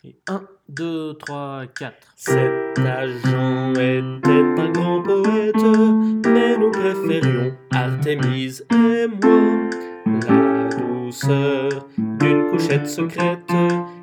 Et 1, 2, 3, 4. Cet agent était un grand poète, mais nous préférions Artémise et moi. La douceur d'une couchette secrète